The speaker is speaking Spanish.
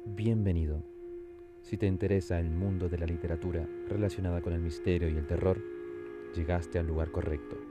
Bienvenido. Si te interesa el mundo de la literatura relacionada con el misterio y el terror, llegaste al lugar correcto.